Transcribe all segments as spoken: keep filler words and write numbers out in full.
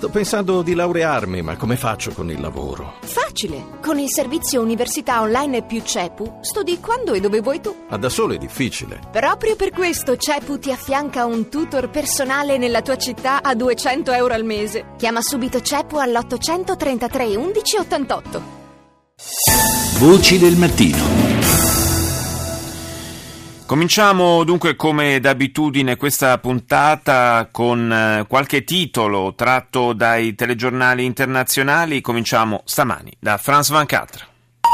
Sto pensando di laurearmi, ma come faccio con il lavoro? Facile! Con il servizio Università Online più CEPU studi quando e dove vuoi tu. Ma da solo è difficile. Proprio per questo CEPU ti affianca un tutor personale nella tua città a duecento euro al mese. Chiama subito CEPU all'ottocentotrentatré undici ottantotto. Voci del mattino. Cominciamo dunque come d'abitudine questa puntata con qualche titolo tratto dai telegiornali internazionali. Cominciamo stamani da France ventiquattro.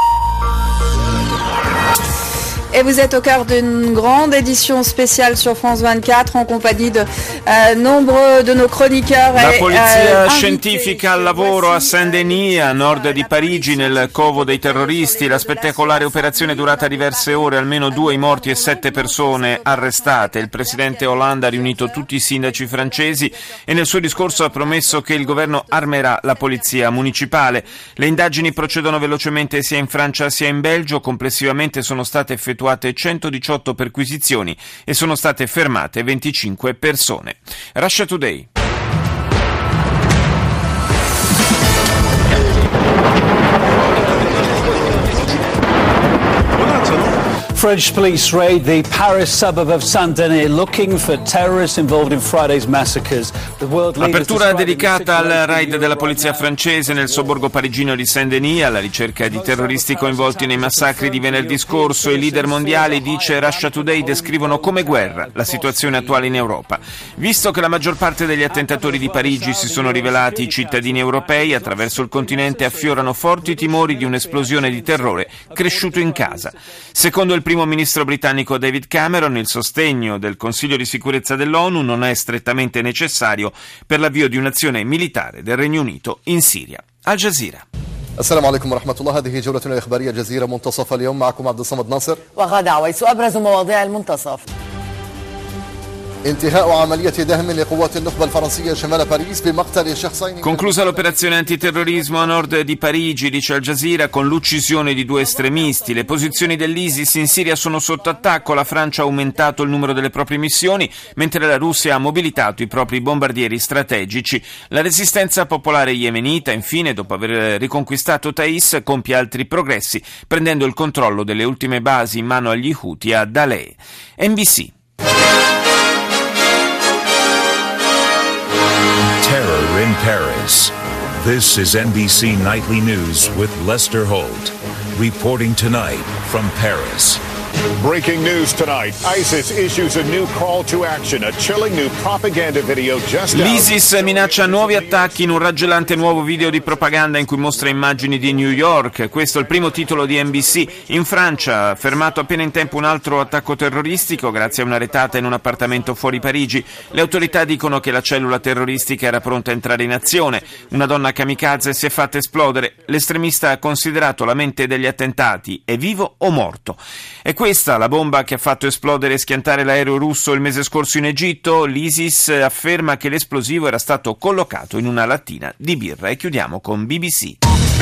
Et vous êtes au cœur d'une grande édition spéciale sur France ventiquattro en compagnie de euh, nombreux de nos chroniqueurs. La et, polizia euh, scientifica al lavoro a Saint-Denis, a nord di Parigi, nel covo dei terroristi. La spettacolare operazione è durata diverse ore, almeno due i morti e sette persone arrestate. Il presidente Hollande ha riunito tutti i sindaci francesi e nel suo discorso ha promesso che il governo armerà la polizia municipale. Le indagini procedono velocemente sia in Francia sia in Belgio. Complessivamente sono state effettuate centodiciotto perquisizioni e sono state fermate venticinque persone. Russia Today. French police raid the Paris suburb of Saint-Denis looking for terrorists involved in Friday's massacres. The world leaders Apertura dedicata al raid della polizia francese nel sobborgo parigino di Saint-Denis alla ricerca di terroristi coinvolti nei massacri di venerdì scorso. I leader mondiali, dice Russia Today, descrivono come guerra la situazione attuale in Europa. Visto che la maggior parte degli attentatori di Parigi si sono rivelati cittadini europei, attraverso il continente affiorano forti timori di un'esplosione di terrore cresciuto in casa. Secondo il primo ministro britannico David Cameron, il sostegno del Consiglio di sicurezza dell'ONU non è strettamente necessario per l'avvio di un'azione militare del Regno Unito in Siria. Al Jazeera. السلام عليكم ورحمة الله. هذه جولتنا الإخبارية جزيرة منتصف اليوم. معكم عبد الصمد ناصر وغادة عويس. أبرز مواضيع المنتصف: Conclusa l'operazione antiterrorismo a nord di Parigi, dice Al Jazeera, con l'uccisione di due estremisti. Le posizioni dell'ISIS in Siria sono sotto attacco. La Francia ha aumentato il numero delle proprie missioni, mentre la Russia ha mobilitato i propri bombardieri strategici. La resistenza popolare yemenita, infine, dopo aver riconquistato Taiz, compie altri progressi, prendendo il controllo delle ultime basi in mano agli Houthi a Daleh. N B C. Terror in Paris. This is N B C Nightly News with Lester Holt, reporting tonight from Paris. Breaking news tonight. ISIS issues a new call to action, a chilling new propaganda video just out. L'ISIS minaccia nuovi attacchi in un raggelante nuovo video di propaganda in cui mostra immagini di New York. Questo è il primo titolo di N B C. In Francia, fermato appena in tempo un altro attacco terroristico grazie a una retata in un appartamento fuori Parigi. Le autorità dicono che la cellula terroristica era pronta a entrare in azione. Una donna kamikaze si è fatta esplodere. L'estremista ha considerato la mente degli attentati: è vivo o morto? È questa la bomba che ha fatto esplodere e schiantare l'aereo russo il mese scorso in Egitto? L'ISIS afferma che l'esplosivo era stato collocato in una lattina di birra. E chiudiamo con B B C.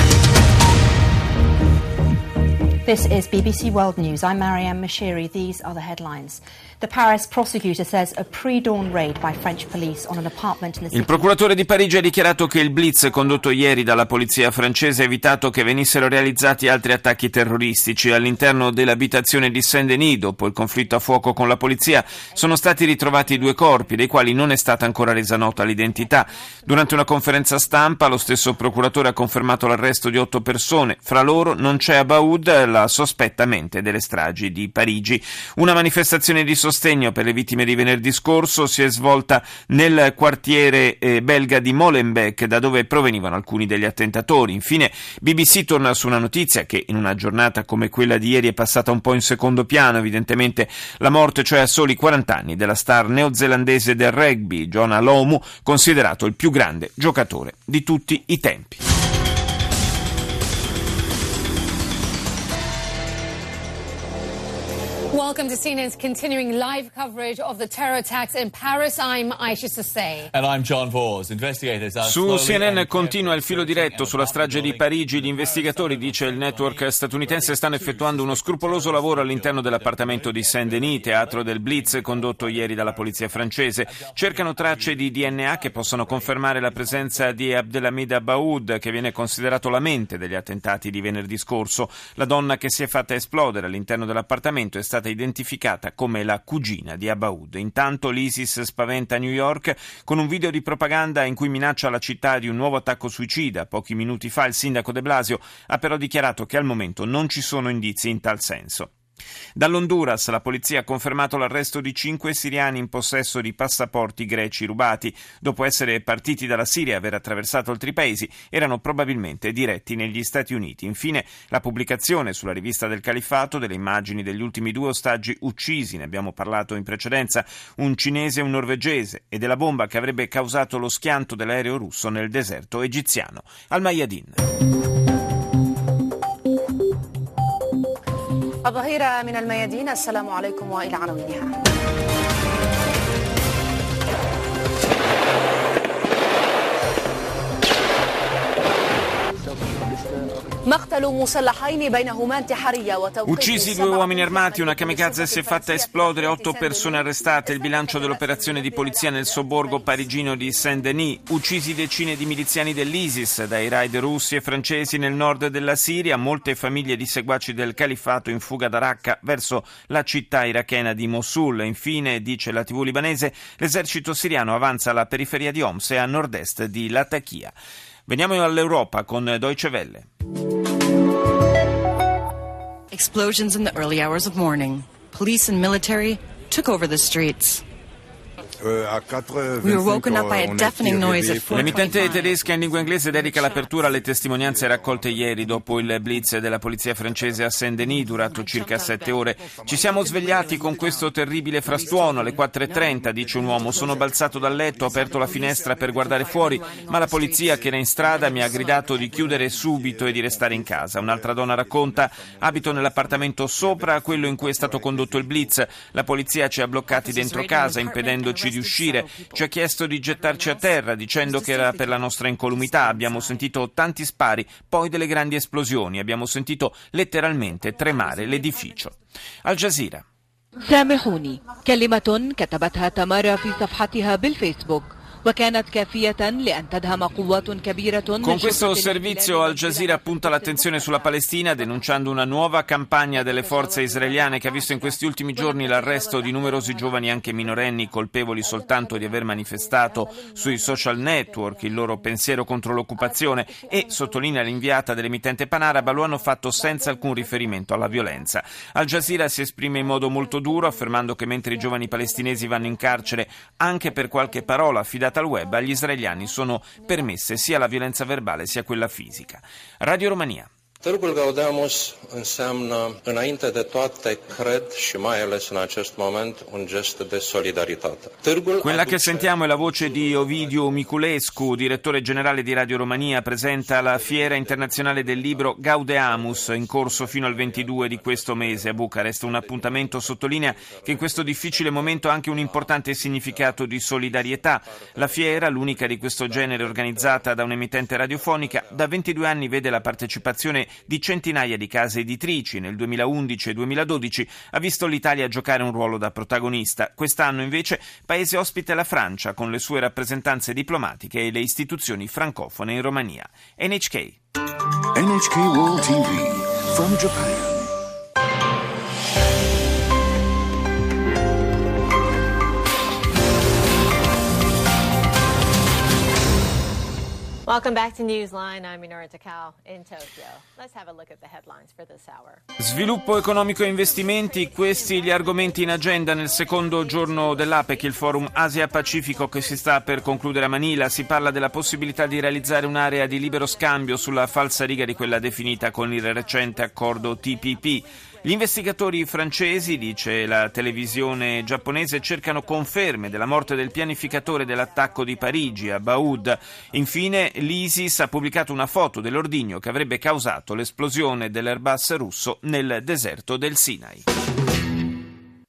This is B B C World News. I'm Marianne Mashiri. These are the headlines. The Paris prosecutor says a pre-dawn raid by French police on an apartment in the city. Il procuratore di Parigi ha dichiarato che il blitz condotto ieri dalla polizia francese ha evitato che venissero realizzati altri attacchi terroristici. All'interno dell'abitazione di Saint-Denis, dopo il conflitto a fuoco con la polizia, sono stati ritrovati due corpi, dei quali non è stata ancora resa nota l'identità. Durante una conferenza stampa, lo stesso procuratore ha confermato l'arresto di otto persone. Fra loro non c'è Abaoud, la sospetta mente delle stragi di Parigi. Una manifestazione di sostegno per le vittime di venerdì scorso si è svolta nel quartiere eh, belga di Molenbeek, da dove provenivano alcuni degli attentatori. Infine B B C torna su una notizia che in una giornata come quella di ieri è passata un po' in secondo piano, evidentemente la morte, cioè a soli quaranta anni, della star neozelandese del rugby Jonah Lomu, considerato il più grande giocatore di tutti i tempi. Welcome to C N N's continuing live coverage of the terror attacks in Paris. I'm Aisha Sasay. And I'm John Vors. Investigators are Su C N N continua il filo diretto sulla strage di Parigi. Gli investigatori, dice il network statunitense, stanno effettuando uno scrupoloso lavoro all'interno dell'appartamento di Saint-Denis, teatro del blitz condotto ieri dalla polizia francese. Cercano tracce di D N A che possano confermare la presenza di Abdelhamid Abaoud, che viene considerato la mente degli attentati di venerdì scorso. La donna che si è fatta esplodere all'interno dell'appartamento è stata identificata come la cugina di Abaoud. Intanto l'ISIS spaventa New York con un video di propaganda in cui minaccia la città di un nuovo attacco suicida. Pochi minuti fa il sindaco de Blasio ha però dichiarato che al momento non ci sono indizi in tal senso. Dall'Honduras la polizia ha confermato l'arresto di cinque siriani in possesso di passaporti greci rubati. Dopo essere partiti dalla Siria e aver attraversato altri paesi, erano probabilmente diretti negli Stati Uniti. Infine la pubblicazione sulla rivista del Califfato delle immagini degli ultimi due ostaggi uccisi, ne abbiamo parlato in precedenza, un cinese e un norvegese, e della bomba che avrebbe causato lo schianto dell'aereo russo nel deserto egiziano. Al Mayadin. الظهيرة من الميادين. السلام عليكم وإلى عناوينها. Uccisi due uomini armati, una kamikaze si è fatta esplodere, otto persone arrestate, il bilancio dell'operazione di polizia nel sobborgo parigino di Saint-Denis. Uccisi decine di miliziani dell'ISIS dai raid russi e francesi nel nord della Siria, molte famiglie di seguaci del califfato in fuga da Raqqa verso la città irachena di Mosul. Infine, dice la tivù libanese, l'esercito siriano avanza alla periferia di Homs e a nord-est di Latakia. Veniamo all'Europa con Deutsche Welle. Explosions in the early hours of morning. Police and military took over the streets. We were woken up by a deafening noise at four twenty-five. L'emittente tedesca in lingua inglese dedica l'apertura alle testimonianze raccolte ieri dopo il blitz della polizia francese a Saint-Denis durato circa sette ore. Ci siamo svegliati con questo terribile frastuono alle quattro e trenta, dice un uomo. Sono balzato dal letto, ho aperto la finestra per guardare fuori, ma la polizia che era in strada mi ha gridato di chiudere subito e di restare in casa. Un'altra donna racconta: abito nell'appartamento sopra quello in cui è stato condotto il blitz. La polizia ci ha bloccati dentro casa impedendoci di uscire, ci ha chiesto di gettarci a terra dicendo che era per la nostra incolumità. Abbiamo sentito tanti spari, poi delle grandi esplosioni, abbiamo sentito letteralmente tremare l'edificio. Al Jazeera. سامحوني كلمة كتبتها تمارا في صفحتها بالفيسبوك. Con questo servizio Al Jazeera punta l'attenzione sulla Palestina, denunciando una nuova campagna delle forze israeliane che ha visto in questi ultimi giorni l'arresto di numerosi giovani, anche minorenni, colpevoli soltanto di aver manifestato sui social network il loro pensiero contro l'occupazione, e, sottolinea l'inviata dell'emittente panaraba, lo hanno fatto senza alcun riferimento alla violenza. Al Jazeera si esprime in modo molto duro, affermando che mentre i giovani palestinesi vanno in carcere anche per qualche parola affidata al web, agli israeliani sono permesse sia la violenza verbale sia quella fisica. Radio Romania. Târgul Gaudeamus înseamnă, înainte de toate, cred, și mai ales în acest moment, un gest de solidaritate. Quella che sentiamo è la voce di Ovidiu Miculescu, direttore generale di Radio Romania, presenta la Fiera Internazionale del Libro Gaudeamus, in corso fino al ventidue di questo mese a Bucarest. Un appuntamento sottolinea che in questo difficile momento ha anche un importante significato di solidarietà. La fiera, l'unica di questo genere organizzata da un'emittente radiofonica, da ventidue anni vede la partecipazione di centinaia di case editrici. Nel duemilaundici e duemiladodici ha visto l'Italia giocare un ruolo da protagonista. Quest'anno invece paese ospite la Francia, con le sue rappresentanze diplomatiche e le istituzioni francofone in Romania. N H K. N H K World T V from Japan. Welcome back to Newsline. I'm Minoru Takao in Tokyo. Let's have a look at the headlines for this hour. Sviluppo economico e investimenti, questi gli argomenti in agenda nel secondo giorno dell'APEC, il forum Asia-Pacifico che si sta per concludere a Manila. Si parla della possibilità di realizzare un'area di libero scambio sulla falsariga di quella definita con il recente accordo T P P. Gli investigatori francesi, dice la televisione giapponese, cercano conferme della morte del pianificatore dell'attacco di Parigi, Abaoud. Infine, l'ISIS ha pubblicato una foto dell'ordigno che avrebbe causato l'esplosione dell'Airbus russo nel deserto del Sinai.